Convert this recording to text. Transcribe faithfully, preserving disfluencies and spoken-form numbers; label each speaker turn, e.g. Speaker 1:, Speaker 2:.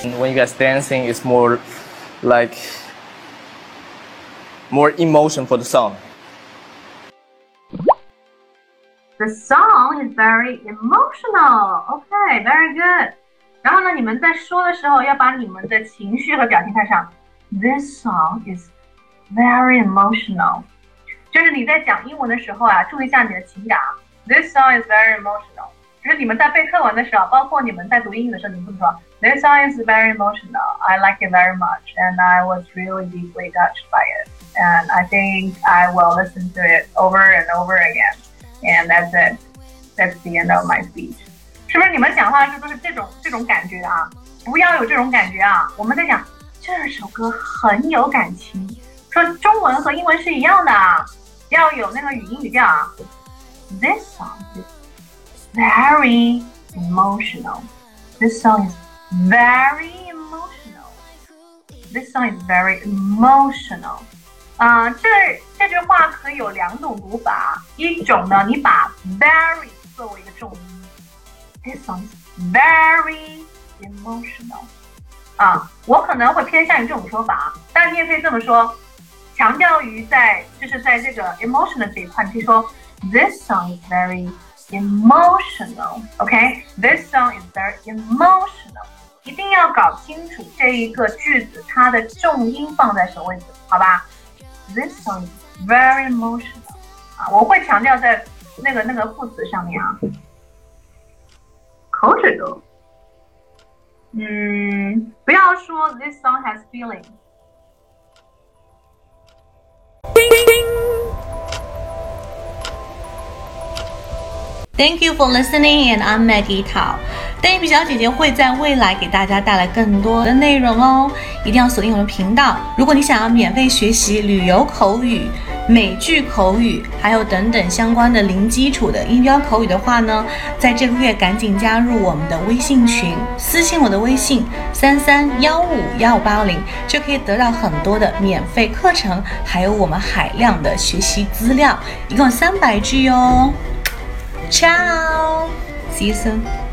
Speaker 1: When you guys dancing, it's more like more emotion for the song.
Speaker 2: The song is very emotional. Okay, very good. 然后呢，你们在说的时候要把你们的情绪和表情带上。This song is very emotional. 就是你在讲英文的时候啊，注意一下你的情感。This song is very emotional. 就是你们在背课文的时候，包括你们在读英语的时候，你们会说 This song is very emotional. I like it very much, and I was really deeply touched by it. And I think I will listen to it over and over again. And that's it. That's the end of my speech. 是不是你们讲话的时候都是这种这种感觉啊？不要有这种感觉啊！我们在讲这首歌很有感情，说中文和英文是一样的啊，要有那个语音语调啊。This song is very emotional. This song is very emotional. This song is very emotional. 啊、呃，这这句话可以有两种读法，一种呢，你把 very 作为一个重音。This song is very emotional. 啊，我可能会偏向于这种说法，但你也可以这么说，强调于在就是在这个 emotional 这一块，你可以说 This song is very emotional. OK, this song is very emotional. 一定要搞清楚这一个句子它的重音放在什么位置，好吧 ？This song is very emotional. 啊，我会强调在那个那个副词上面啊。口水歌，嗯，不要说 This song has feeling。
Speaker 3: Thank you for listening, and I'm Maggie Tao. 黛比小姐姐会在未来给大家带来更多的内容哦，一定要锁定我们频道。如果你想要免费学习旅游口语、美剧口语，还有等等相关的零基础的音标口语的话呢，在这个月赶紧加入我们的微信群，私信我的微信三三幺五幺五八零，就可以得到很多的免费课程，还有我们海量的学习资料，一共三百句哦。Ciao! See you soon.